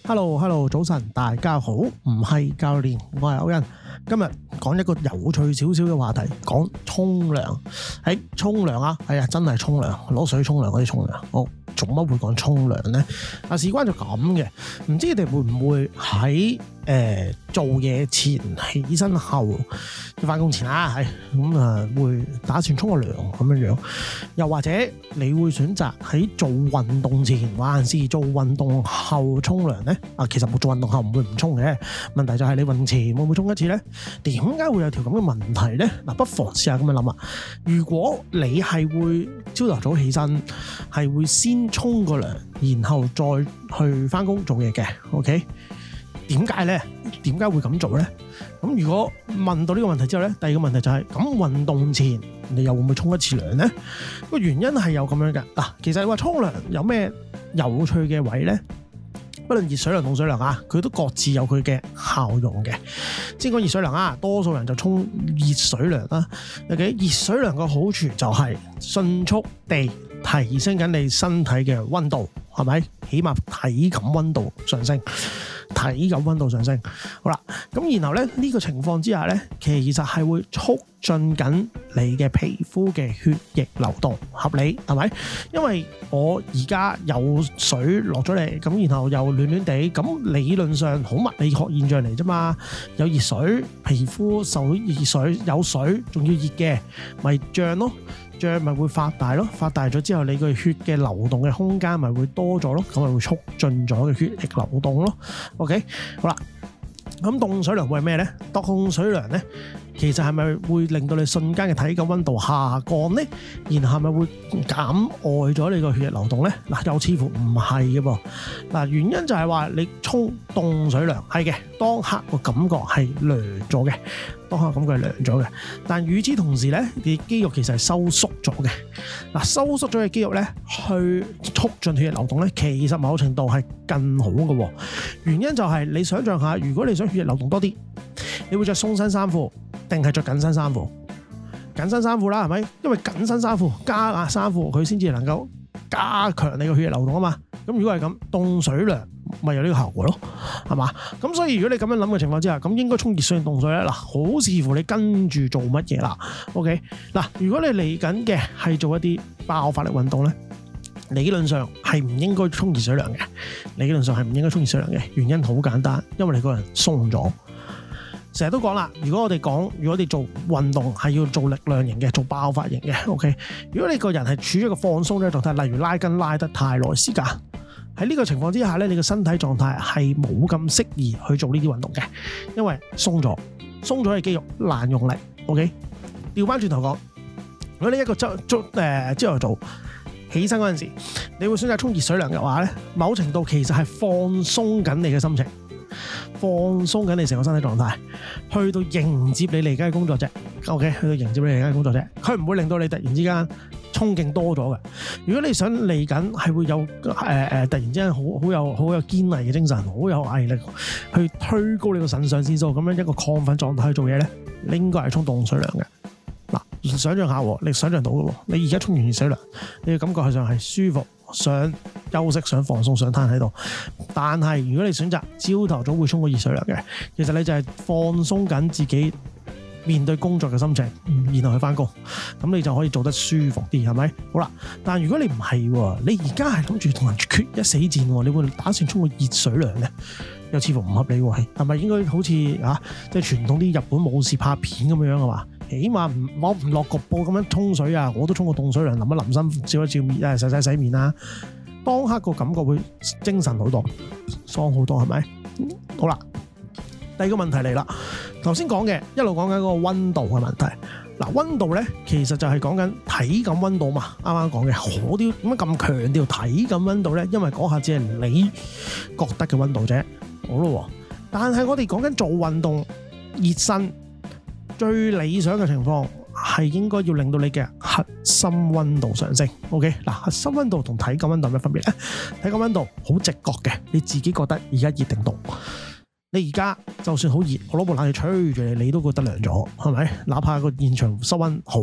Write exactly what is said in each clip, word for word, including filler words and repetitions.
Hello，Hello， 早晨，大家好，唔係教練，我係歐恩。今日講一個有趣少少嘅話題，講沖涼。喺沖涼啊，係啊，真係沖涼，攞水沖涼嗰啲沖涼。好，做乜會講沖涼呢？啊，事關就咁嘅，唔知你哋會唔會喺誒、呃、做嘢前、起身後、翻工前啊，係咁啊，會打算沖個涼咁樣樣，又或者你會選擇喺做運動前，還是做運動後沖涼呢？啊，其實冇做運動後唔會唔沖嘅，問題就係你運動前會唔會沖一次呢？點解會有條咁嘅問題呢？嗱，不妨試下咁樣諗啊！如果你係會朝頭早起身，係會先沖個涼，然後再去翻工做嘢嘅 ，OK？ 點解呢？點解會咁做呢？咁如果問到呢個問題之後呢，第二個問題就係、是、咁運動前你又會唔會沖一次涼呢？個原因係有咁樣嘅嗱，其實你話沖涼有咩有趣嘅位呢？不論熱水涼、凍水涼啊，佢都各自有佢嘅效用嘅。先講熱水涼啊，多數人就沖熱水涼啦。OK， 熱水涼嘅好處就係迅速地提升緊你身體嘅溫度，係咪？起碼體感溫度上升。體感溫度上升，好啦，咁然後咧呢、呢個情況之下咧，其實係會促進緊你嘅皮膚嘅血液流動，合理係咪？因為我而家有水落咗嚟，咁然後又暖暖地，咁理論上好物理學現象嚟啫嘛，有熱水，皮膚受熱水，有水仲要熱嘅，咪脹咯。脹咪會發大咯，發大咗之後，你個血嘅流動嘅空間咪會多咗咯，咁咪會促進咗嘅血液流動咯。OK， 好啦，咁凍水涼會係咩呢？凍水涼呢，其實係咪會令到你瞬間嘅體感溫度下降呢？然後係咪會減礙咗你個血液流動呢？嗱，又似乎唔係嘅噃。嗱，原因就係話你沖凍水涼係嘅，當刻個感覺係涼咗嘅。當下感覺係涼咗嘅，但與此同時咧，你肌肉其實係收縮咗嘅。嗱，收縮咗嘅肌肉咧，去促進血液流動咧，其實某程度係更好嘅。原因就係你想象下，如果你想血液流動多啲，你會着鬆身衫褲定係着緊身衫褲？緊身衫褲啦，係咪？因為緊身衫褲加壓衫褲，佢先至能夠加強你個血液流動啊嘛。咁如果係咁，凍水涼咪有呢個效果咯，係嘛？咁所以如果你咁樣諗嘅情況之下，咁應該沖熱水定凍水咧？嗱，好視乎你跟住做乜嘢啦。OK， 嗱，如果你嚟緊嘅係做一啲爆發力運動咧，理論上係唔應該沖熱水涼嘅。理論上係唔應該沖熱水涼嘅，原因好簡單，因為你個人鬆咗。成日都講啦，如果我哋講，如果你做運動係要做力量型嘅，做爆發型嘅 ，OK。如果你個人係處於一個放鬆嘅狀態，例如拉筋拉得太耐時間，喺呢個情況之下咧，你嘅身體狀態係冇咁適宜去做呢啲運動嘅，因為鬆咗，鬆咗嘅肌肉難用力 ，OK。調翻轉頭講，如果你一個朝朝誒朝頭早起身嗰陣時，你會選擇沖熱水涼嘅話咧，某程度其實係放鬆緊你嘅心情。放鬆緊你成個身體狀態，去到迎接你嚟緊嘅工作啫。OK， 去到迎接你嚟緊嘅工作啫。佢唔會令到你突然之間衝勁多咗嘅。如果你想嚟緊係會有誒誒、呃，突然之間好好有好有堅毅嘅精神，好有毅力去推高你個腎上腺素，咁樣一個亢奮狀態去做嘢咧，你應該係沖凍水涼嘅。嗱，想象下，你想象到嘅喎，你而家沖完熱水涼，你嘅感覺上係舒服。想休息、想放鬆、想攤喺度，但係如果你選擇朝頭早會沖個熱水涼嘅，其實你就係放鬆緊自己面對工作嘅心情，然後去翻工，咁你就可以做得舒服啲，係咪？好啦，但係如果你唔係喎，你而家係諗住同人決一死戰喎，你會打算沖個熱水涼咧？又似乎唔合理喎，係咪應該好似啊，即係傳統啲日本武士拍片咁樣啊嘛？起碼唔我唔落局部咁樣沖水啊，我都沖個凍水涼，淋一淋身，照一照面，誒洗洗洗面啦。當刻個感覺會精神好多，爽好多，係咪？好啦，第二個問題嚟啦。頭先講嘅一路講緊嗰個溫度嘅問題。嗱，溫度咧其實就係講緊體感溫度嘛。啱啱講嘅，我啲點解咁強調體感溫度咧？因為嗰下只係你覺得嘅溫度啫。好咯，但係我哋講緊做運動熱身。最理想嘅情況係應該要令到你嘅核心溫度上升。OK， 嗱，核心溫度同體感溫度有咩分別咧？體感溫度好直覺嘅，你自己覺得而家熱定凍。你而家就算好熱，我攞部冷氣吹住你，你都覺得涼咗，係咪？哪怕個現場室溫好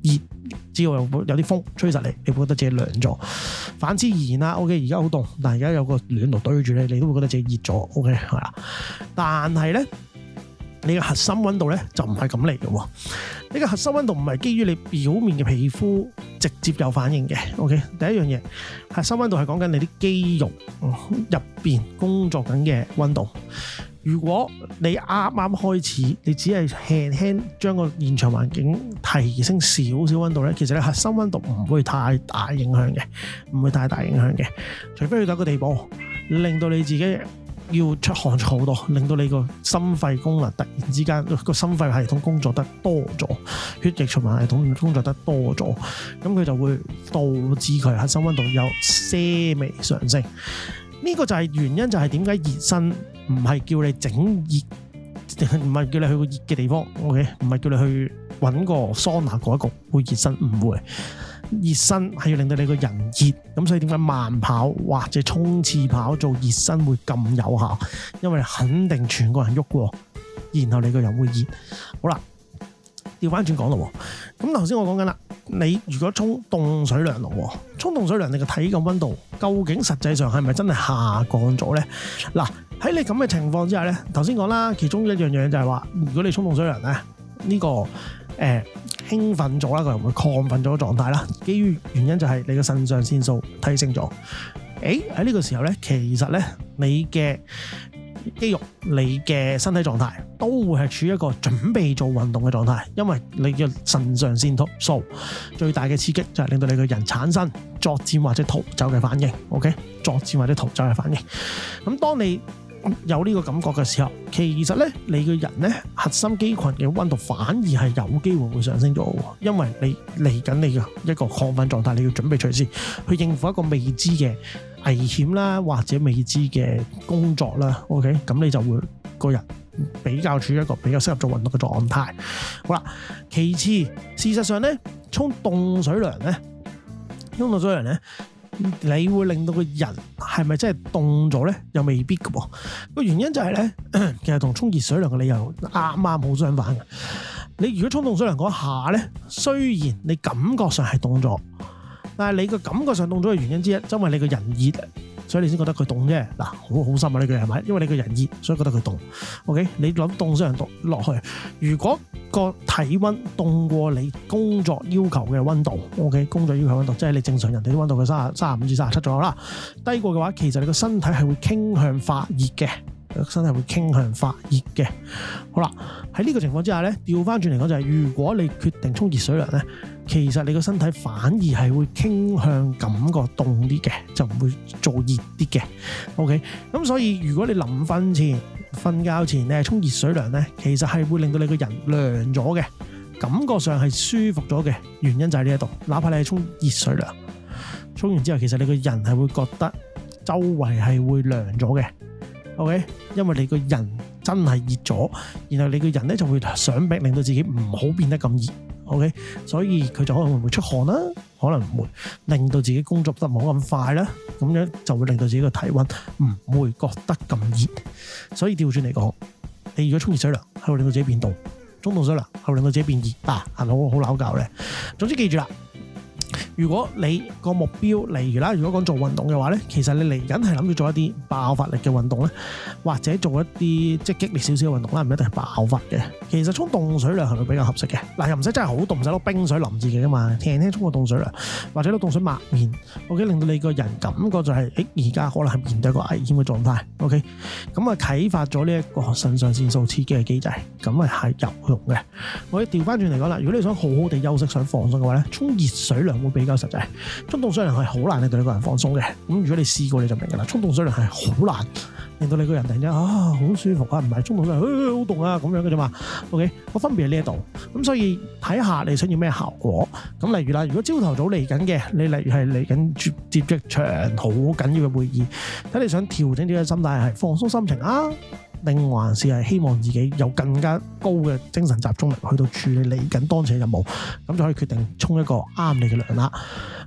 熱，只要有有啲風吹實你，你會覺得自己涼咗。反之而言啦 ，OK， 而家好凍，但係而家有個暖爐對住你，你都會覺得自己熱咗 ，OK 係啦。但係咧，你嘅核心溫度咧就唔係咁嚟嘅喎。呢個核心溫度唔係基於你表面嘅皮膚直接有反應嘅 ，OK。第一樣嘢，核心溫度係講緊你啲肌肉入邊工作緊嘅溫度。如果你啱啱開始，你只係輕輕將個現場環境提升少少溫度咧，其實你核心溫度唔會太大影響嘅，唔會太大影響嘅。除非去到一個地步，令到你自己要出汗好多，令到你個心肺功能突然之間個心肺系統工作得多咗，血液循環系統工作得多咗，咁佢就會導致佢核心溫度有些微上升。呢個就係原因，就係點解熱身唔係叫你整熱，唔係叫你去個熱嘅地方 ，OK， 唔係叫你去揾個桑拿嗰一個會熱身，唔會。熱身係要令到你個人熱，咁所以點解慢跑或者衝刺跑做熱身會咁有效？因為肯定全個人喐過，然後你個人會熱。好啦，調翻轉講咯，咁頭先我講緊啦，你如果沖凍水涼咯，沖凍水涼你個體感溫度究竟實際上係咪真係下降咗咧？嗱，喺你咁嘅情況之下咧，頭先講啦，其中一樣嘢就係話，如果你沖凍水涼咧，呢、這個誒。呃興奮咗啦，個人會亢奮咗嘅狀態啦。基於原因就係你嘅腎上腺素提升咗。誒喺呢個時候咧，其實咧你嘅肌肉、你嘅身體狀態都會係處於一個準備做運動嘅狀態，因為你嘅腎上腺素最大嘅刺激就係令到你個人產生作戰或者逃走嘅反應。OK， 作戰或者逃走嘅反應。咁當你有呢個感覺嘅時候，其實咧你個人咧核心肌群嘅溫度反而係有機會會上升咗，因為你嚟緊你嘅一個亢奮狀態，你要準備隨時去應付一個未知嘅危險啦，或者未知嘅工作啦。OK， 咁你就會個人比較處於一個比較適合做運動嘅狀態。好啦，其次事實上咧，沖凍水涼咧，沖凍水涼咧。你會令到個人係咪真係凍咗咧？又未必嘅噃。個原因就係咧，其實同沖熱水涼嘅理由啱啱好相反嘅。你如果沖凍水涼嗰下咧，雖然你感覺上係凍咗，但係你個感覺上凍咗嘅原因之一，因為你個人熱，所以你先覺得佢凍啫。嗱，好好深啊呢句係咪？因為你個人熱，所以覺得佢凍。OK， 你諗凍水涼凍落去，如果個體溫凍過你工作要求嘅溫度 ，OK， 工作要求溫度，即係你正常人哋啲溫度嘅三十、三十五至三十七左右啦。低過嘅話，其實你個身體係會傾向發熱嘅，身體會傾向發熱嘅。好啦，喺呢個情況之下咧，調翻轉嚟講就係、是，如果你決定沖熱水涼咧，其實你個身體反而係會傾向感覺凍啲嘅，就唔會做熱啲嘅。OK， 咁所以如果你臨瞓前、瞓覺前你係沖熱水涼咧，其實係會令到你個人涼咗嘅，感覺上係舒服咗嘅。原因就喺呢一度，哪怕你係沖熱水涼，沖完之後其實你個人係會覺得周圍係會涼咗嘅。OK， 因為你個人真係熱咗，然後你個人咧就會想逼令到自己唔好變得咁熱。OK， 所以佢就可能會唔會出汗啦，可能唔會令到自己工作得冇咁快啦，咁樣就會令到自己個體溫唔會覺得咁熱。所以調轉嚟講，你如果沖熱水涼係會令到自己變凍，沖凍水涼係會令到自己變熱啊，係咪好好拗教咧？總之記住啦。如果你個目標，例如啦，如果講做運動嘅話咧，其實你嚟緊係諗住做一啲爆發力嘅運動咧，或者做一啲即係激烈少少嘅運動啦，唔一定係爆發嘅。其實沖凍水涼係咪比較合適嘅？嗱，又唔使真係好凍，唔使攞冰水淋自己噶嘛，輕輕沖個凍水涼，或者攞凍水抹面 ，OK， 令到你個人感覺就係、是，誒而家可能係面對一個危險嘅狀態 ，OK， 咁啊啟發咗呢一個腎上腺素刺激嘅機制，咁啊係有用嘅。我哋調翻轉嚟講啦，如果你想好好地休息、想放鬆嘅話咧，沖熱水涼會比較實際，沖凍水涼係好難令到你個人放鬆嘅。咁如果你試過你就明噶啦，沖凍水涼係好難令到你個人突然間啊好舒服啊，唔係沖凍水涼好凍啊咁樣嘅啫嘛。OK， 個分別喺呢一度。咁所以睇下你想要咩效果。咁例如啦，如果朝頭早嚟緊嘅，你例如係嚟緊接接一場好緊要嘅會議，睇你想調整自己嘅心態係放鬆心情啊，定還是係希望自己有更加高嘅精神集中力去到處理嚟緊當前嘅任務，咁就可以決定沖一個啱你嘅涼啦。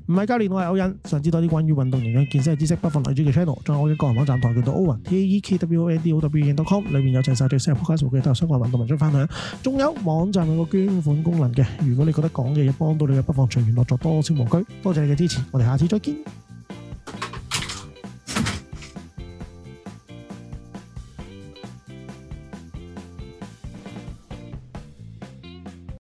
唔係教練，我係歐恩。想知多啲關於運動營養健身嘅知識，不妨嚟住嘅 channel，仲有我嘅個人網站跆拳道 Owen T A E K W O N D O W E N dot com， 裏面有齊晒最新嘅 podcast 數據，都有相關運動文章分享。仲有網站有個捐款功能嘅，如果你覺得講嘅嘢幫到你嘅，不妨隨緣樂助，多謝無拘。多謝你嘅支持，我哋下次再見。